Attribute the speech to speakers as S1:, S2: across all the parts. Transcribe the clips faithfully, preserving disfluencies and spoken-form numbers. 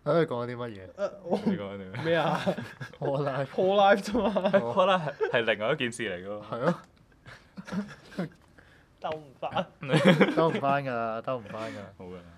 S1: 喺度講啲乜嘢？
S2: 你講啲
S3: 咩啊
S1: ？Hall Life
S3: Hall Life 啫嘛。
S2: Hall Life 係係另外一件事嚟㗎喎。
S1: 係咯。
S3: 兜唔翻。
S1: 兜唔翻㗎，兜唔翻㗎。
S2: 好㗎。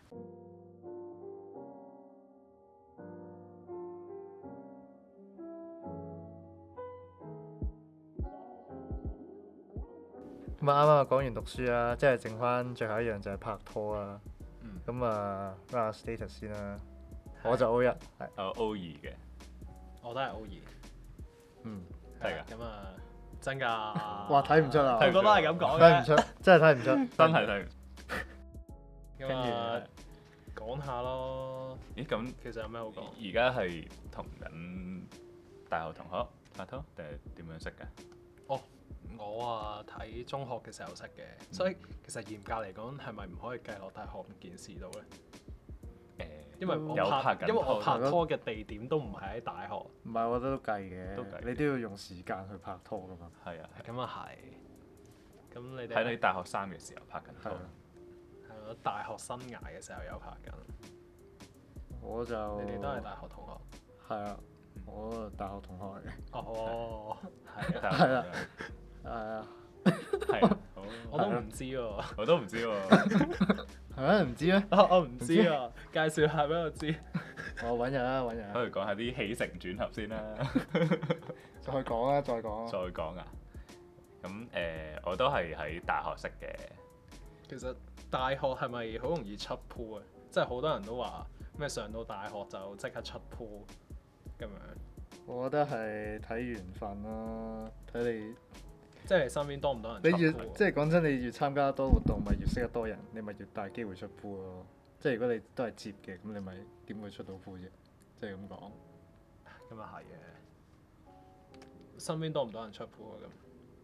S1: 咁啊啱啱講完讀書啦，即係剩翻最後一樣就係拍拖啦。咁、嗯、啊，講下 status 先啦。我就 O 一，係。
S2: 我 O 二嘅。
S3: 我都係 O 二。
S1: 嗯。
S2: 係㗎。
S3: 咁啊，真㗎。
S1: 哇！睇唔出啊。
S3: 我覺得係咁講嘅。
S1: 睇唔出，真係睇唔出。
S2: 真係睇唔出。
S3: 跟住講下咯。
S2: 咦？咁
S3: 其實有咩好講？
S2: 而家係同緊大學同學拍拖定係點樣識㗎？
S3: 哦。我啊睇中學嘅時候識嘅，嗯、所以其實嚴格嚟講係咪唔可以計落大學件事度咧？誒、
S2: 呃，
S3: 因為我
S2: 拍，
S3: 拍因為我拍拖嘅地點都唔係喺大學。
S1: 唔係，我覺得都計嘅，
S2: 都計
S1: 你都要用時間去拍拖噶嘛。
S2: 係啊。
S3: 咁啊係。咁你哋
S2: 喺你大學三嘅時候拍緊拖。
S3: 係咯，大學生涯嘅時候有拍緊。
S1: 我就。
S3: 你哋都係大學同學。
S1: 係啊，我大學同學嚟嘅。
S3: 哦，係啊。
S1: 係啊。係啊，
S2: 係啊，
S3: 我都唔知喎，
S2: 我都唔知喎，
S1: 係咩？唔知咩？
S3: 我唔知啊，介紹下俾我知。
S1: 我揾日啦，揾日。
S2: 不如講下啲起承轉合先啦。
S1: 再講啊，再講啊。
S2: 再講啊，咁誒、呃，我都係喺大學識嘅。
S3: 其實大學係咪好容易出鋪啊？即係好多人都話咩上到大學就即刻出鋪咁樣。
S1: 我覺得係睇緣分咯，睇你。
S3: 即係你身邊多唔多人出 pool？
S1: 你越即係講真，你越參加多活動，咪越識得多人，你咪越大機會出 pool 咯。即係如果你都係接嘅，咁你咪點會出到 pool 啫？即係咁講。
S3: 咁啊係嘅。身邊多唔多人出 pool 啊？咁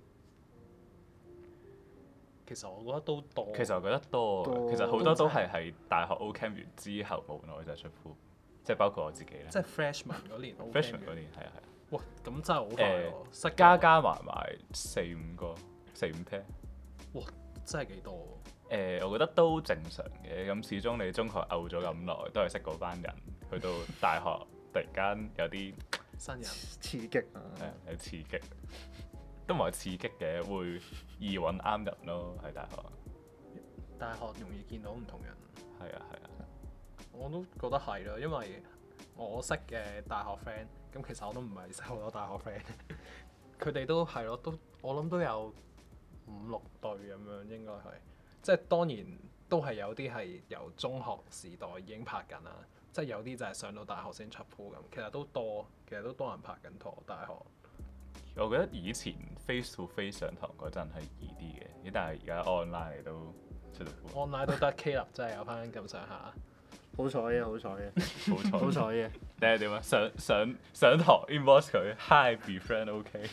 S3: 其實我覺得都多。
S2: 其實我覺得多，多其實好多都係喺大學 O Camp 完之後冇耐就出 pool，即係包括我自己啦。
S3: 即係 freshman 嗰年 O Camp。
S2: freshman 嗰年係啊係啊。
S3: 哇！咁真係好快喎，
S2: 呃、加加埋埋四五個，四五 pair。
S3: 哇！真係幾多喎？
S2: 誒、呃，我覺得都正常嘅。咁始終你中學漚咗咁耐，都係識嗰班人。去到大學，突然間有啲
S3: 新人
S1: 刺激啊！
S2: 係有刺激，都唔係刺激嘅，會易揾啱人咯。喺大學。
S3: 大學容易見到唔同人。
S2: 係啊係啊。
S3: 我都覺得係咯，因為我識嘅大學 friend。咁其實我都唔係識好多大學 friend，佢哋都係咯，都我諗都有五六對咁樣應該係，即係當然都係有啲係由中學時代已經拍緊啦，即係有啲就係上到大學先出 pool 咁，其實都多，其實都多人拍緊拖大學。
S2: 我覺得以前 face to face 上堂嗰陣係易啲嘅，但係而家 online 都出到 pool。
S3: online 都得 K 立真係有翻咁上下。
S1: 好彩嘅，好彩嘅，
S2: 好彩，
S1: 好彩嘅。
S2: 定係點啊？上上上堂 inbox 佢 ，hi be friend OK。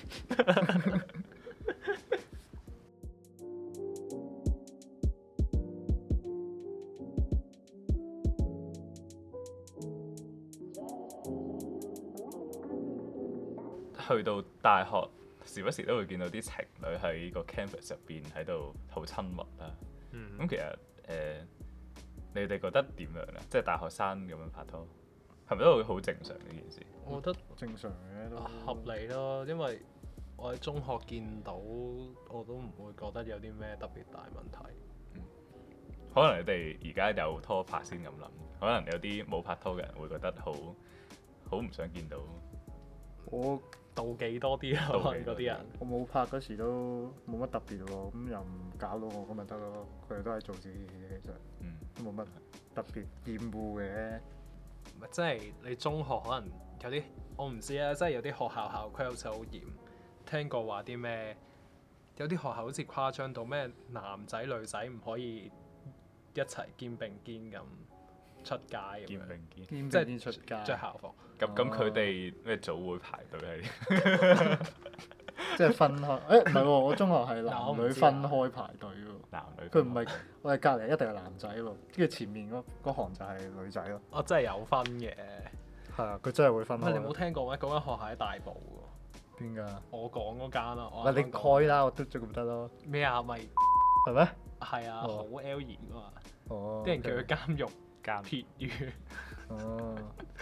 S2: 去到大學，時不時都會見到啲情侶喺個 campus 入邊喺度好親密啦。咁、嗯、其實誒。呃你哋覺得點樣咧？即係大學生咁樣拍拖，係咪都會好正常呢件事？
S3: 我覺得
S1: 正常嘅都
S3: 合理咯，因為我喺中學見到，我都唔會覺得有啲咩特別大問題。
S2: 嗯、可能你哋而家有拖拍先咁諗，可能有啲冇拍拖嘅人會覺得好好唔想見到。
S1: 我
S3: 妒忌多啲啊，嗰啲人。
S1: 我冇拍嗰時都冇乜特別喎，咁又唔搞到我咁咪得咯。佢哋都係做自己嘅，其實。嗯。都冇乜特別厭惡嘅。
S3: 唔係，即係你中學可能有啲，我唔知啊，即係有啲學校校規好似好嚴。聽過話啲咩？有啲學校好似誇張到咩男仔女仔唔可以一齊肩並肩咁出街咁樣。肩
S2: 並肩。
S3: 即係出街。着校服。
S2: 咁咁佢哋咩組會排隊係？
S1: 即係分開，誒唔係喎，我中學係男女分開排隊喎。
S2: 男女。
S1: 佢唔係，我係隔離一定係男仔喎，跟住前面嗰嗰行就係女仔咯。
S3: 哦，真係有分嘅。
S1: 係啊，佢真係會分開。
S3: 你冇聽過咩？嗰間學校喺大埔喎。邊
S1: 㗎？
S3: 我講嗰間啊。
S1: 唔係你開啦，我嘟咗咁得咯。
S3: 咩啊？咪
S1: 係咩？
S3: 係啊，好 L 型㗎嘛。
S1: 哦。
S3: 啲人叫佢監獄。監。撇魚。
S1: 哦，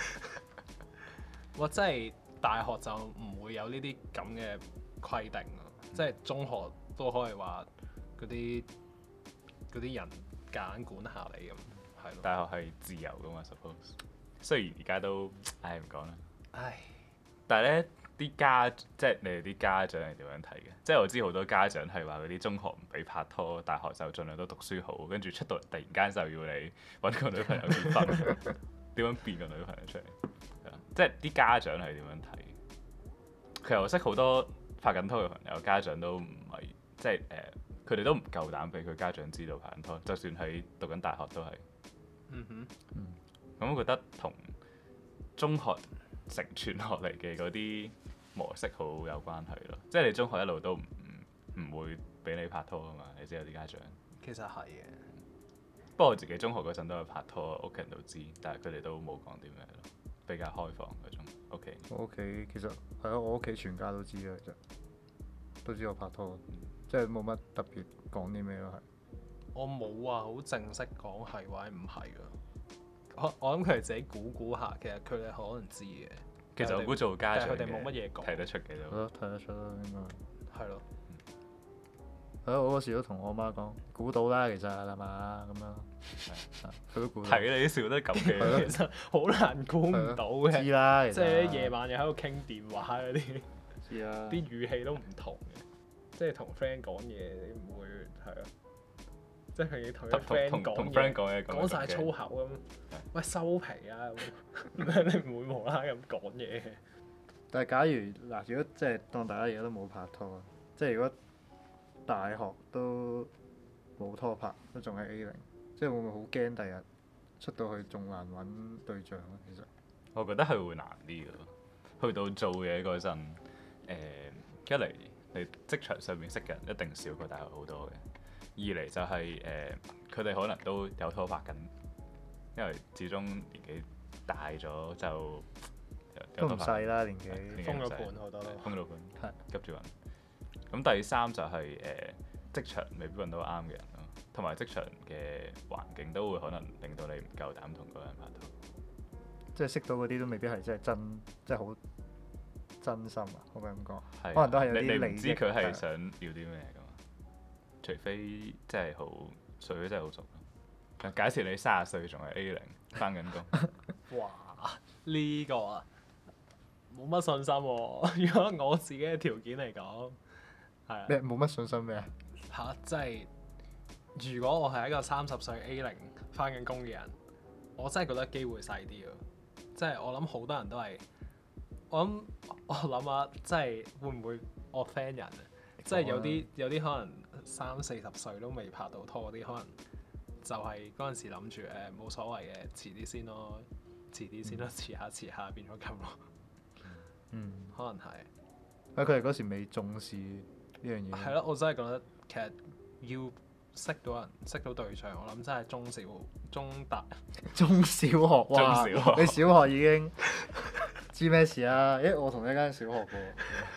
S3: 哇！真係大學就唔會有呢啲咁嘅規定咯，即係中學都可以話嗰啲嗰啲人夾硬管下你咁，係咯。
S2: 大學係自由噶嘛 ，suppose。雖然而家都，唉唔講啦。唉。但係咧，啲家即係你哋啲家長係點樣睇嘅？即係我知好多家長係話嗰啲中學唔俾拍拖，大學就盡量都讀書好，跟住出到嚟突然間就要你揾個女朋友結婚，點樣變個女朋友出嚟？即係啲家長係點樣睇？其實我識好多拍緊拖嘅朋友，家長都唔係即係誒，佢、呃、哋都唔夠膽俾佢家長知道拍緊拖，就算喺讀緊大學都係。
S3: 嗯哼。
S2: 嗯。咁我覺得同中學承傳落嚟嘅嗰啲模式好有關係咯。即係你中學一路都唔唔會俾你拍拖啊嘛，你知有啲家長。
S3: 其實係嘅。
S2: 不過我自己中學嗰陣都有拍拖，屋企人都知，但係佢哋都冇講啲咩咯，比較開放嗰種。屋企。
S1: 我屋企其實係咯，我屋企全家都知啊，其實都知我拍拖，嗯、即係冇乜特別講啲咩咯，係。
S3: 我冇話好正式講係或者唔係㗎。我我諗佢哋自己估估下，其實佢哋可能知嘅。
S2: 其實我估做家長
S3: 佢哋冇乜嘢講，
S2: 睇得出嘅都。
S1: 睇得出啦，應該。
S3: 係咯。
S1: 係咯，我嗰時都同我媽講，估到啦，其實係嘛咁樣。佢都估到。
S2: 係你笑得咁嘅，
S3: 其實好難估唔到嘅。
S1: 知啦，
S3: 即係夜晚又喺度傾電話嗰啲。
S1: 知啦。
S3: 啲語氣都唔同嘅，即係同 friend 講嘢，你唔會係咯。即係佢要同啲 friend 講嘢，講晒粗口咁。喂，收皮啊！你唔會無啦啦咁講嘢。
S1: 但係假如嗱，如果即係當大家而家都冇拍拖，即係如果大學都冇拖拍，都仲係 A 零，即係會唔會好驚第日出到去仲難揾對象咧？其實
S2: 我覺得係會難啲嘅，去到做嘢嗰陣，誒一嚟你職場上面識嘅人一定少過大學好多嘅。二嚟就係、是、誒，佢、呃、哋可能都有拖拍緊，因為始終年紀大咗就
S1: 都唔細啦年紀，
S3: 封咗盤好多，
S2: 封咗盤，
S1: 係
S2: 急住揾。咁第三就係、是、誒、呃、職場未必揾到啱嘅人咯，同埋職場嘅環境都會可能令到你唔夠膽同嗰個人拍拖。
S1: 即係識到嗰啲都未必係真係真，即係好真心啊！可唔可以咁講？
S2: 係
S1: 可能都係有啲利益。
S2: 你你唔知佢係想要啲咩㗎嘛？除非真係好熟，真係好熟咯。假設你三十歲仲係 A 零，返緊工。
S3: 哇！呢、呢個啊，冇乜信心喎、啊。如果我自己嘅條件嚟講，係啊。
S1: 咩冇乜信心咩啊？
S3: 嚇！即係如果我係一個三十歲 A 零返緊工嘅人，我真係覺得機會細啲啊。即係我諗好多人都係，我諗我諗下，即係會唔會我 friend 人啊？即係有啲有啲可能三四十歲都未拍到拖嗰啲，可能就係嗰陣時諗住誒冇所謂嘅，遲啲先咯，遲啲先咯，遲下遲下變咗咁咯。
S1: 嗯，
S3: 可能係。
S1: 啊！佢哋嗰時未重視呢樣嘢。係
S3: 咯，我真係覺得其實要識到人、識到對象，我諗真係中小、中大、
S1: 中小學哇！
S2: 中小學
S1: 你小學已經知咩事啊？誒，我同一間小學嘅。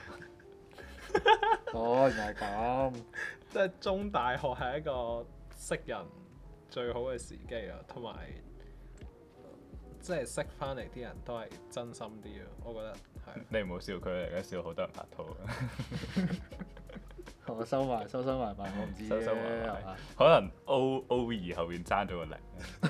S1: 哦，原來係咁。
S3: 即係中大學係一個識人最好嘅時機啊，同埋即係識翻嚟啲人都係真心啲啊，我覺得係。
S2: 你唔好笑佢，而家笑好多人拍拖。
S1: 我收埋，收收埋埋，我唔知
S2: 收收埋埋，
S1: 係嘛？
S2: 可能 O O 二後邊爭咗個零。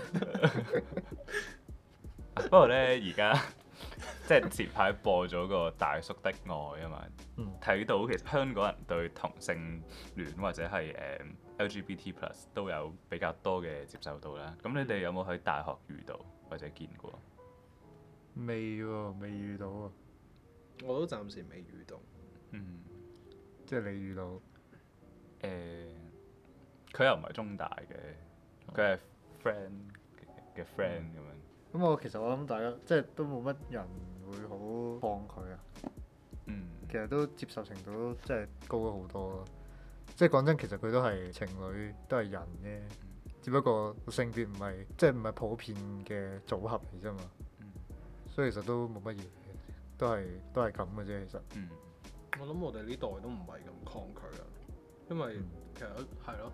S2: 不過咧，而家即係前排播咗個大叔的愛啊嘛，睇、嗯、到其實香港人對同性戀或者係誒、uh, L G B T plus 都有比較多嘅接受度啦。咁你哋有冇喺大學遇到或者見過？
S1: 未喎，未遇到啊。
S3: 我都暫時未遇到。
S2: 嗯。
S1: 即係你遇到？誒、
S2: 呃，佢又唔係中大嘅，佢係 friend 嘅 friend 咁樣。
S1: 咁我其實我諗大家即係都冇乜人會好抗拒啊。
S2: 嗯。
S1: 其實都接受程度都即係高咗好多咯。即係講真，其實佢都係情侶，都係人啫。嗯、只不過性別唔係即係唔係普遍嘅組合嚟啫嘛。嗯、所以其實都冇乜嘢，都係都係咁嘅啫。其實。嗯。
S3: 我諗我哋呢代都唔係咁抗拒啊，因為其實係咯，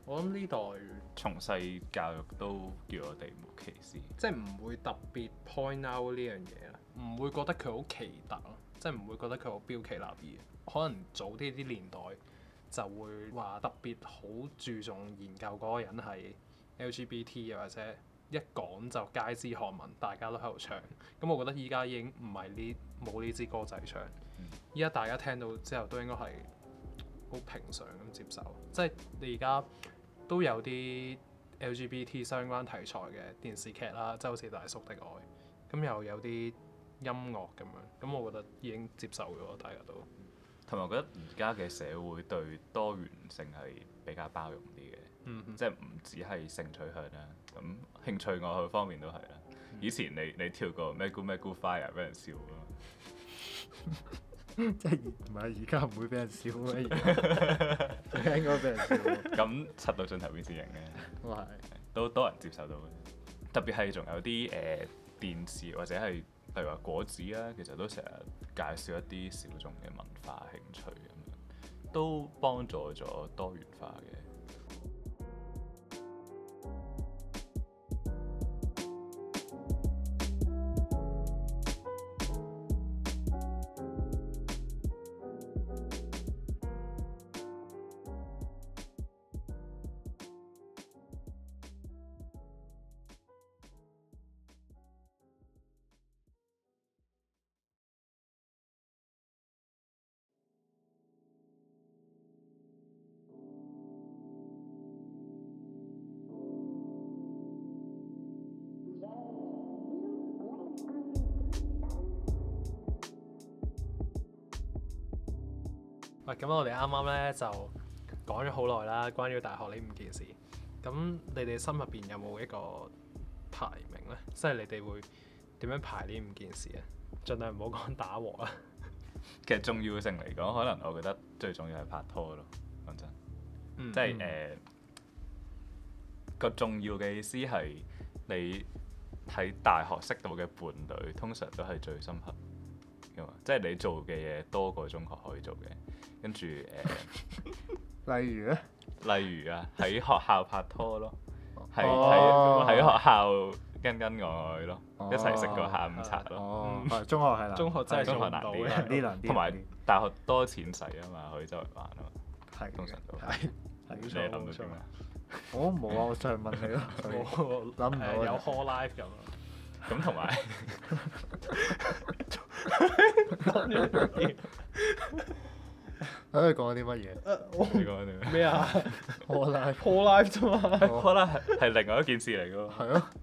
S3: 我諗呢代
S2: 從細教育都叫我哋冇歧視，
S3: 即係唔會特別 point out 呢樣嘢啦，唔會覺得佢好奇特咯，即係唔會覺得佢好標奇立異。可能早啲啲年代就會話特別好注重研究嗰個人係 L G B T， 又或者一講就街知巷聞，大家都喺度唱。咁我覺得依家已經唔係呢冇呢支歌仔唱，依家大家聽到之後都應該係好平常咁接受。即係你而家都有啲 L G B T 相關題材嘅電視劇啦，即係好似《大叔的愛》，咁又有啲音樂咁樣，咁我覺得已經接受咗，大家都。
S2: 同埋我覺得而家嘅社會對多元性係比較包容啲嘅，嗯、哼即係唔只係性取向啦，咁興趣愛好方面都係啦。嗯、以前你你跳過咩 Good 咩 Good Fire 俾人笑啊嘛，
S1: 即係唔係而家唔會俾人笑咩？而家應該俾人笑。
S2: 咁七到盡頭變線型嘅，
S1: 都係
S2: 都多人接受到嘅。特別係仲有啲誒、呃、電視或者係例如話果子啦，其實都成日介紹一啲小眾嘅文化興趣咁樣，都幫助咗多元化嘅。
S3: 喂，咁我哋啱啱咧就講咗好耐啦，關於大學呢五件事。咁你哋心入邊有冇一個排名咧？即係你哋會點樣排呢五件事啊？盡量唔好講打和啦。
S2: 其實重要性嚟講，可能我覺得最重要係拍拖咯。講真，嗯、即係誒個重要嘅意思係你喺大學識到嘅伴侶，通常都係最深刻嘅嘛。即係你做嘅嘢多過中學可以做嘅。跟住誒，呃、
S1: 例如咧，
S2: 例如啊，喺學校拍拖咯，係喺喺學校跟跟愛愛咯，哦、一齊食個下午茶咯。
S1: 哦，嗯、中學係啦，
S3: 中學真係
S2: 中學難啲，
S1: 難啲難啲。
S2: 同埋大學多錢使啊嘛，可以周圍玩啊嘛。
S1: 係，
S2: 通常都
S3: 係。
S2: 你諗到啲咩？
S1: 我冇啊，我上問你咯。
S3: 冇
S1: 諗唔到。
S3: 有 hall life 咁。
S2: 咁同埋。
S1: 喺度講啲乜嘢？
S2: 你講啲咩？
S3: 咩啊
S1: ？Hall
S3: life，hall life 啫嘛。
S2: hall life 係係另外一件事嚟㗎喎。
S1: 係咯。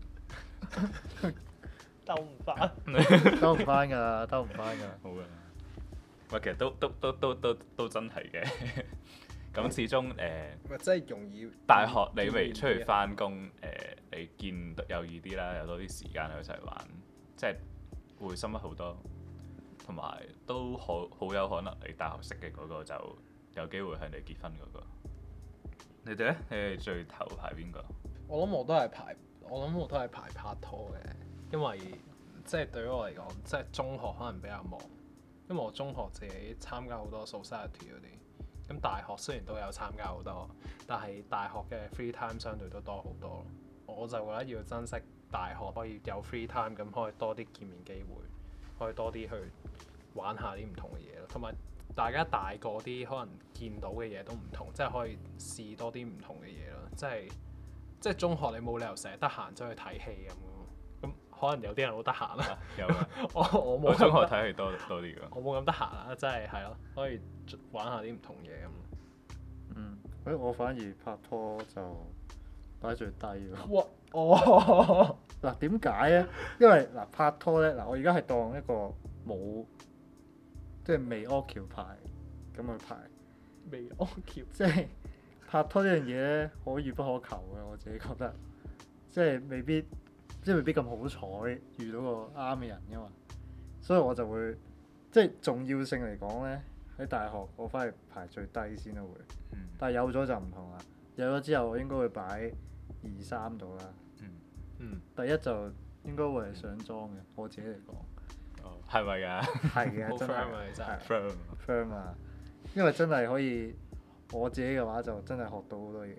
S3: 兜唔翻。
S1: 兜唔翻㗎，兜唔翻㗎。
S2: 好㗎。喂，其實都都都都都都真係嘅。咁始終誒。
S3: 咪真係容易。
S2: 大學你未出去翻工，誒你見有易啲啦，有多啲時間去一齊玩，即係會深刻好多。同埋都好好有可能你大學識嘅嗰個就有機會係你結婚嗰個。你哋咧？你哋最頭排邊個？
S3: 我諗我都係排，我諗我都係排拍拖嘅，因為即係對於我嚟講，即係中學可能比較忙，因為我中學自己參加好多 society 嗰啲，咁大學雖然都有參加好多，但係大學嘅 free time 相對都多好多。我就覺得要珍惜大學可以有 free time，咁可以多啲見面機會，可以多啲去玩下啲唔同嘅嘢咯，同埋大家大個啲，可能見到嘅嘢都唔同，即係可以試多啲唔同嘅嘢咯。即係即係中學你冇理由成日得閒走去睇戲咁咯，咁可能有啲人好得閒啦。
S2: 有啊，
S3: 我我冇。
S2: 我中學睇戲多多啲㗎。
S3: 我冇咁得閒啊，真係係咯，可以玩下啲唔同嘢咁。
S1: 嗯，誒我反而拍拖就擺最低喎。
S3: 哇！哦。
S1: 嗱點解咧？因為嗱拍拖咧，嗱我而家係當一個冇。即係未 occupy 咁去排，
S3: 未 occupy
S1: 即係拍拖呢樣嘢咧，可遇不可求嘅，我自己覺得，即係未必，即係未必咁好彩遇到個啱嘅人噶嘛，所以我就會即係重要性嚟講咧，喺大學我翻去排最低先都會，
S2: 嗯、
S1: 但係有咗就唔同啦，有咗之後我應該會擺二三度啦，
S2: 嗯
S3: 嗯、
S1: 第一就應該會係上妝嘅，我自己嚟講。
S2: 係咪㗎？
S1: 係嘅，真係
S3: 真係
S1: firm 啊！因為真係可以，我自己嘅話就真係學到好多嘢嘅。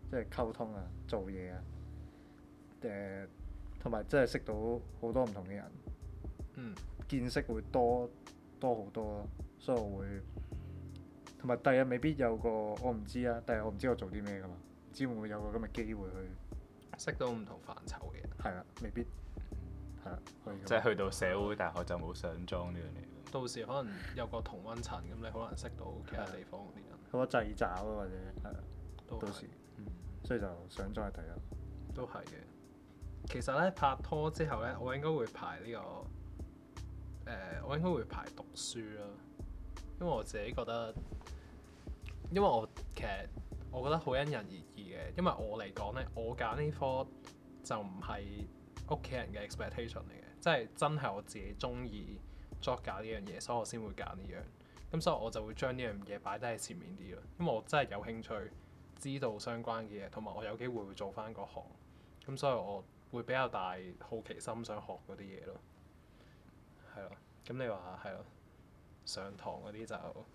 S1: 即係溝通啊、做嘢啊，誒同埋即係識到好多唔同嘅人，
S3: 嗯，
S1: 見識會多多好多咯，所以我會同埋第日未必有個我唔知啊，第日我唔知我做啲咩噶嘛，唔知會唔會有個咁嘅機會去
S3: 識到唔同範疇嘅人。
S1: 係啦，未必係啦，
S2: 即係去到社會大學就冇上莊呢樣嘢。
S3: 到時可能有個同溫層，咁你可能識到其他地方嗰啲人。
S1: 好多掣肘啊，或者係啊，
S3: 都
S1: 到時，
S2: 嗯、
S1: 所以就上莊係第一。
S3: 都係嘅。其實咧拍拖之後咧，我應該會排呢、呢個誒、呃，我應該會排讀書啦。因為我自己覺得，因為我其實我覺得好因人而異嘅。因為我嚟講咧，我揀呢科就唔係屋企人嘅 expectation 嚟嘅，即係真係我自己中意作搞呢樣嘢，所以我先會揀呢樣。咁所以我就會將呢樣嘢擺低喺前面啲咯，因為我真係有興趣知道相關嘅嘢，同埋我有機會會做翻嗰行。咁所以我會比較大好奇心想學嗰啲嘢咯。係咯，咁你話係咯，上堂嗰啲就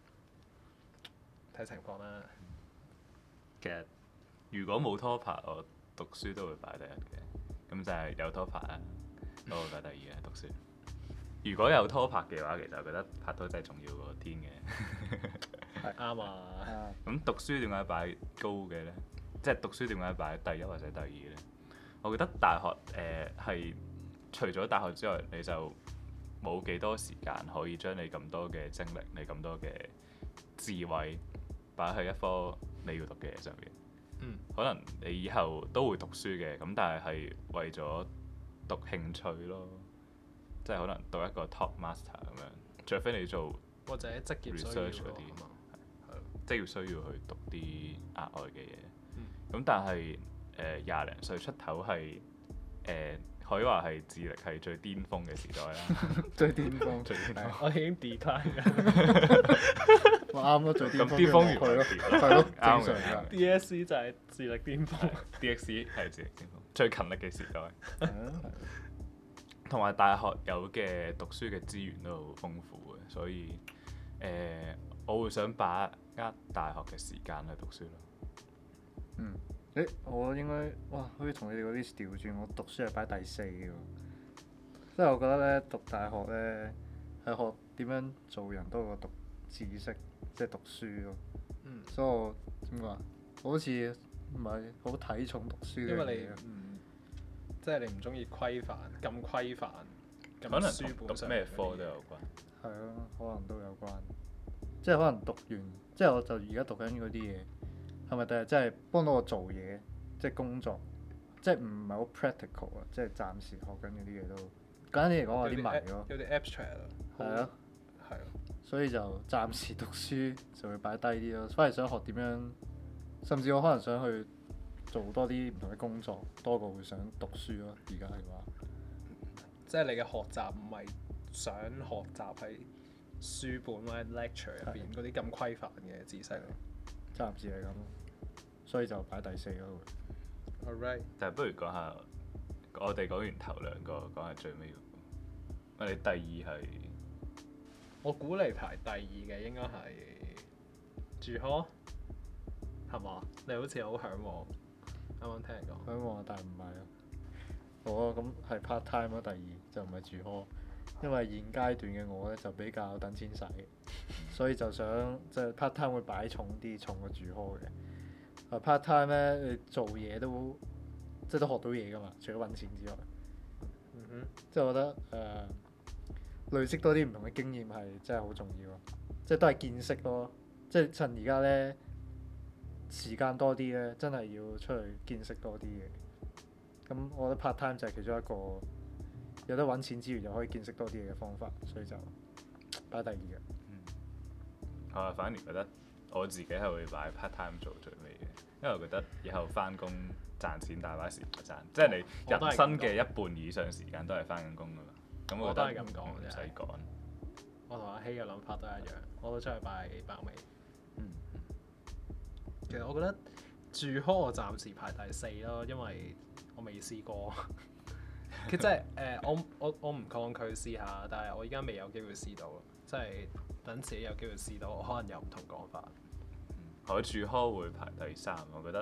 S3: 睇情況啦。
S2: 其實如果冇拖拍，我讀書都會擺第一嘅。咁就係有拖拍啊，我會擺第二啊，讀書。如果有拖拍嘅話，其實我覺得拍拖真係重要過天嘅。
S3: 係啱啊！
S2: 咁讀書點解擺高嘅呢？即係讀書點解擺第一或者第二呢？我覺得大學誒係、呃、除咗大學之外，你就冇幾多時間可以將你咁多嘅精力、你咁多嘅智慧擺喺一科你要讀嘅嘢上面。
S3: 嗯。可
S2: 能你以後都會讀書嘅，咁但係係為咗讀興趣咯。即係可能讀一個 top master 咁樣，除非你做
S3: 或者職業
S2: research 嗰啲，
S3: 係
S2: 即係要需要去讀啲額外嘅嘢。咁、
S3: 嗯、
S2: 但係誒廿零歲出頭係誒、呃、可以話係智力係最巔峰嘅時代啦。
S1: 最巔峰，
S2: 最巔峰。
S3: 我已經 decline 緊。
S1: 我啱咯，最巔峰。
S2: 咁巔峰完
S1: 係咯，係咯，正常㗎。
S3: D S C 就係智力巔峰。
S2: D X C 係智力巔峰，最勤力嘅時代。同埋大學有嘅讀書嘅資源都好豐富嘅，所以誒、呃，我會想把握大學嘅時間去讀書咯。
S1: 嗯，誒，我應該哇，好似同你哋嗰啲調轉，我讀書係擺第四嘅喎。即係我覺得咧，讀大學咧係學點樣做人多過讀知識，即係讀書咯。
S3: 嗯。
S1: 所以我點講啊？我好似唔係好睇重讀書嘅嘢。
S3: 因為你唔即係你唔中意規範咁規範，
S2: 可能
S3: 書本
S2: 讀咩科都有關。
S1: 係咯，可能都有關。即係可能讀完，即係我就而家讀緊嗰啲嘢，係咪第日真係幫到我做嘢，即係工作，即係唔係好 practical 啊？即係暫時學緊嗰啲嘢都簡單啲嚟講，我有啲迷咯。
S3: 有啲 abstract 啊。
S1: 係啊。
S3: 係啊。
S1: 所以就暫時讀書就會擺低啲咯，反而想學點樣，甚至我可能想去做多啲唔同嘅工作，多過會想讀書咯。而家嘅話，
S3: 即係你嘅學習唔係想學習喺書本或者 lecture 入邊嗰啲咁規範嘅知識咯。
S1: 暫時係咁，所以就擺第四咯。
S3: Alright，
S2: 但係不如講下，我哋講完頭兩個，講下最尾嗰個。我哋第二係，
S3: 我估你排第二嘅應該係住 hall，係嘛？你好似好嚮往。啱啱聽人講，
S1: 嚮往但係唔係咯。我咁係 part time 咯，第二就唔係住 hall，因為現階段嘅我咧就比較等錢使，所以就想即係 part time 會擺重啲，重過住 hall 嘅。啊 part time 咧，你做嘢都即係都學到嘢㗎嘛，除咗揾錢之外。
S3: 嗯哼。
S1: 即係我覺得誒、呃、累積多啲唔同嘅經驗係真係好重要咯，即係都係見識咯。即係趁而家咧時間多啲咧，真係要出去見識多啲嘅。咁我覺得 part time 就係其中一個有得揾錢之餘又可以見識多啲嘢嘅方法，所以就擺第二嘅。
S2: 嗯，我啊反而覺得我自己係會擺 part time 做最尾嘅，因為我覺得以後翻工賺錢大把時間賺，即係你人生嘅一半以上時間都係翻緊工㗎嘛。咁我覺得唔使趕。
S3: 我同阿希嘅諗法都一樣，我都出去擺爆尾。
S2: 嗯。
S3: 其實我覺得住 hall 我暫時排第四咯，因為我未試過。其實即係誒，我我我唔抗拒試下，但係我而家未有機會試到，即係等自己有機會試到，我可能有唔同講法。
S2: 嗯，我住 hall 會排第三，我覺得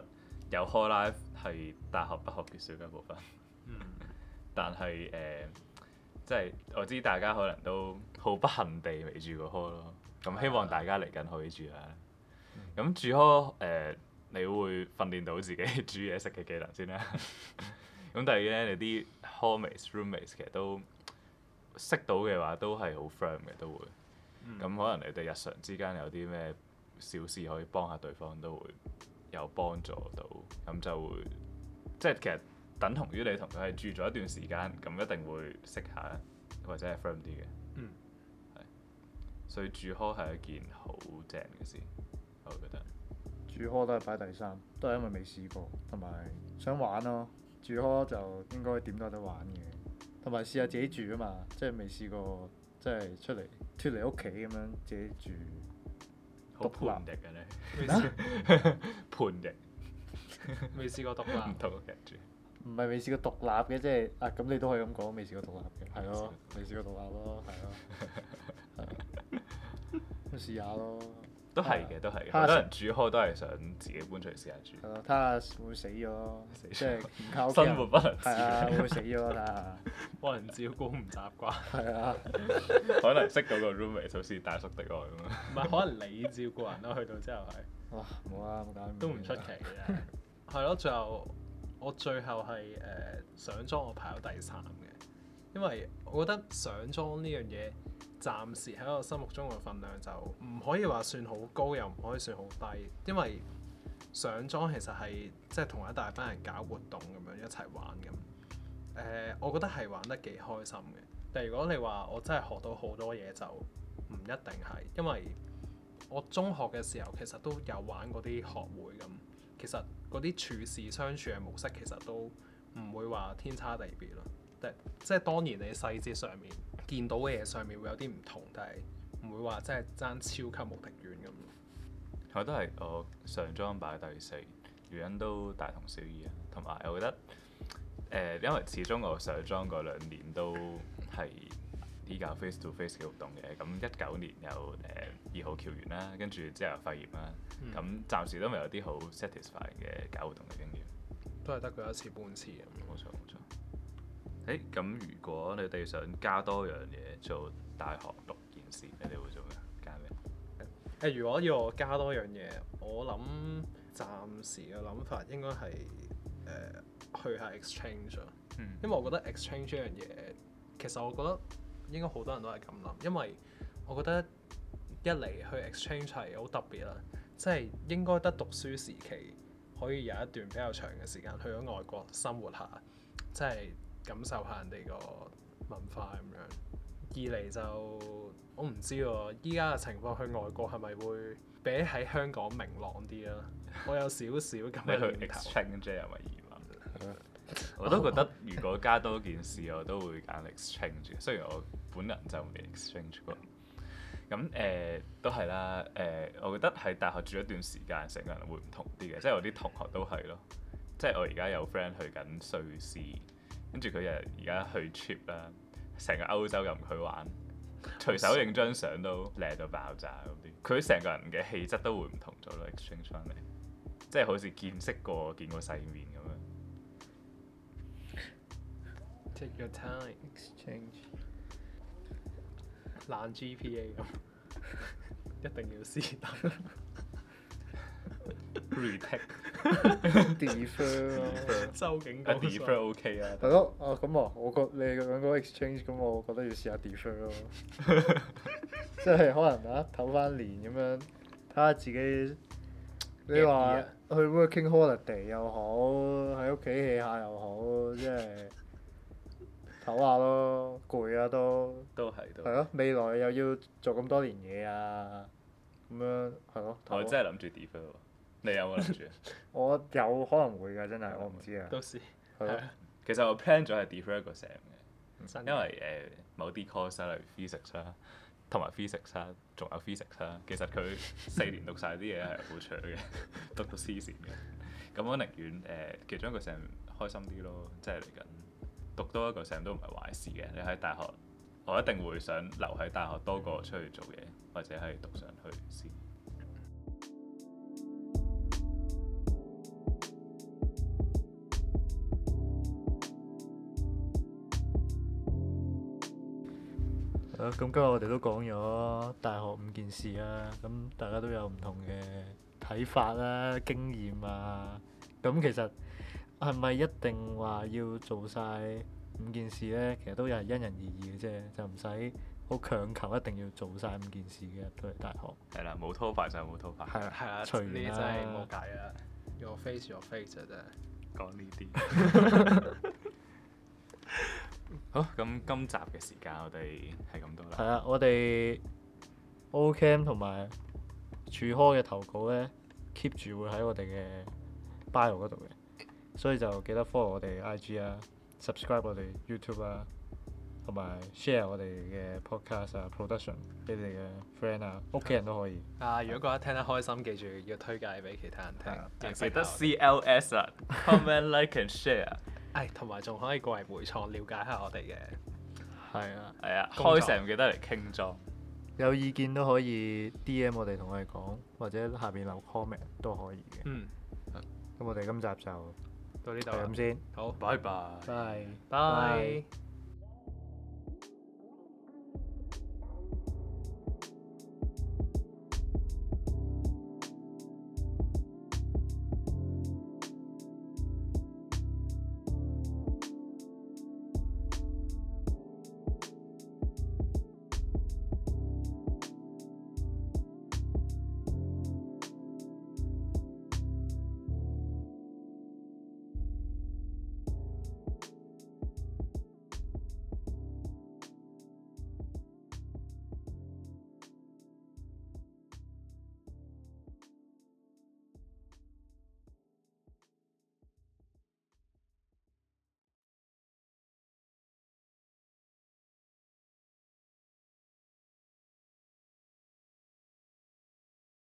S2: 有 hall life 係大學不可缺少嘅部分。
S3: 嗯、
S2: 但係誒、呃，即係我知大家可能都好不幸地未住過 hall 咯。咁希望大家嚟緊可以住啦。咁、嗯、住 hall 誒、呃，你會訓練到自己煮嘢食嘅技能先啦。咁第二咧，你啲 hallmates、roommates 其實都識到嘅話，都係好 friend 嘅都會。咁、嗯、可能你哋日常之間有啲咩小事可以幫下對方，都會有幫助到。咁就會即係其實等同於你同佢係住咗一段時間，咁一定會識下或者係 friend 啲嘅。
S3: 嗯。
S2: 係。所以住 hall 係一件好正嘅事，我覺得。
S1: 住 hall 都係擺第三，都係因為未試過，同埋想玩咯。住 hall 就應該點都有得玩嘅，同埋試下自己住啊嘛，即係未試過，即係出嚟脫離屋企咁樣自己住。
S2: 好叛逆嘅你。
S1: 咩？
S2: 叛逆。
S3: 未試過獨立。
S2: 唔同屋企住。
S1: 唔係未試過獨立嘅，即係啊咁你都可以咁講，未試過獨立嘅，係咯，未試過獨立咯，係咯，係。咁試下咯。
S2: 都係嘅，都係嘅。好多人住 hall 都係想自己搬出嚟試下住。
S1: 係咯，睇下會唔會死咗，即係唔靠屋企
S2: 生活不能自理。
S1: 係啊，會唔會死咗睇下。
S3: 幫人照顧唔習慣。
S1: 係啊。
S2: 可能識到個 roommate 好似大叔的愛咁樣。
S3: 唔係，可能你照顧人咯，去到之後係。
S1: 哇！冇啊，冇搞。
S3: 都唔出奇嘅。係咯，最後我最後係誒、呃、上莊，我排到第三嘅，因為我覺得上莊呢樣嘢。暫時喺我心目中嘅份量就唔可以話算好高，又唔可以算好低，因為上莊其實係即係同一大班人搞活動咁樣一齊玩咁。誒、呃，我覺得係玩得幾開心嘅。但係如果你話我真係學到好多嘢，就唔一定係，因為我中學嘅時候其實都有玩嗰啲學會咁，其實嗰啲處事相處嘅模式其實都唔會話天差地別咯。即係當然你細節上面見到嘅嘢上面會有啲唔同，但係唔會話真係爭超級無敵遠咁。
S2: 我都係我上莊擺第四，原因都大同小異啊。同埋我覺得誒、呃，因為始終我上莊嗰兩年都係依搞 face to face 嘅活動嘅。咁一九年有誒二號橋園啦，跟住之後肺炎啦，咁、嗯、暫時都未有啲好 satisfying 嘅搞活動嘅經驗。
S3: 都係得佢一次半次咁。
S2: 冇錯冇錯。誒咁，如果你哋想加多樣嘢做大學六件事，你哋會做咩？加咩？
S3: 誒、呃，如果要我加多樣嘢，我諗暫時嘅諗法應該係誒、呃、去下 exchange 咯。嗯、因為我覺得 exchange 呢樣嘢，其實我覺得應該好多人都係咁諗，因為我覺得一嚟去 exchange 係好特別啦，即係應該得讀書時期可以有一段比較長嘅時間去咗外國生活下，即係。感受下人哋個文化咁樣。二嚟就我唔知喎，依家嘅情況去外國係咪會比喺香港明朗啲啊？我有少少咁嘅念頭。
S2: exchange 係咪移民？我都覺得如果加多件事，我都會揀 exchange。雖然我本人就未 exchange 過。咁誒、呃、都係啦。誒、呃，我覺得喺大學住一段時間，成個人會唔同啲嘅。即係我啲同學都係咯。即係我而家有 friend 去緊瑞士。跟住佢又而家去 trip 啦，成個歐洲任佢玩，隨手影張相都靚到爆炸嗰啲。佢成個人嘅氣質都會唔同咗咯 ，exchange 翻嚟，即係好似見識過、見過世面咁樣。
S3: Take your time, exchange。爛 G P A 咁，一定要試得。
S1: retake，defer 咯，
S3: 周景
S2: 講 defer OK 啊。
S1: 係咯，哦咁啊，我覺你兩個 exchange，咁我覺得要試下 defer 咯，即係可能啊唞翻年咁樣，睇下自己。你話去 working holiday 又好，喺屋企 hea 下又好，即係唞下咯，攰啊都。
S2: 都係都。
S1: 係咯，未來又要做咁多年嘢啊，咁樣係咯。
S2: 我真係諗住 defer 喎。你有冇諗住？
S1: 我有可能會㗎，真係我唔知啊。
S3: 到時
S1: 係咯。
S2: 其實我 plan 咗係 defer 一個 sem 嘅，
S3: 的
S2: 因為誒、呃、某啲 course 例如 physics 啦，同埋 physics 啦，仲有 physics 啦，其實佢四年讀晒啲嘢係好長嘅，讀到黐線嘅。咁我寧願誒、呃、其中一個 sem 開心啲咯，即係嚟緊讀多一個 sem 都唔係壞事嘅。你喺大學，我一定會想留喺大學多過出去做嘢，或者係讀上去先。
S1: 好，咁今日我哋都講咗大學五件事啦，咁大家都有唔同嘅睇法啦、經驗啊。咁其實係咪一定話要做晒五件事呢？其實都係因人而異嘅啫，就唔使好強求一定要做晒五件事嘅入到嚟大學。
S2: 係啦，冇拖拍就冇拖拍。
S1: 係啦，
S3: 係啦，
S1: 隨
S3: 呢啲
S1: 緣
S3: 真係冇
S1: 啦。
S3: 計啦。Your face, your face 啊真係。
S2: 講呢啲。好，咁今集嘅時間我哋係咁多啦。
S1: 係啊，我哋 Ocamp 同埋柱科嘅投稿咧 keep 住會喺我哋嘅 bio 嗰度嘅，所以就記得 follow 我哋 I G 啊 ，subscribe 我哋 YouTube 啊，同埋 share 我哋嘅 podcast 啊 production 俾你嘅 friend 啊，屋企人都可以。
S3: 啊，如果覺得聽得開心，記住要推介俾其他人聽。
S2: 記得 C L S 啊，comment like and share。
S3: 誒，同埋仲可以過嚟回創了解下我哋嘅。
S1: 係啊，
S2: 係啊，
S3: 工作
S2: 開成記得嚟傾裝。
S1: 有意見都可以 D M 我哋同我哋講，或者下邊留 comment 都可以嘅。
S3: 嗯。
S1: 咁我哋今集就
S3: 到呢度
S1: 係咁先。
S3: 好，
S2: 拜拜。
S1: 拜
S3: 拜。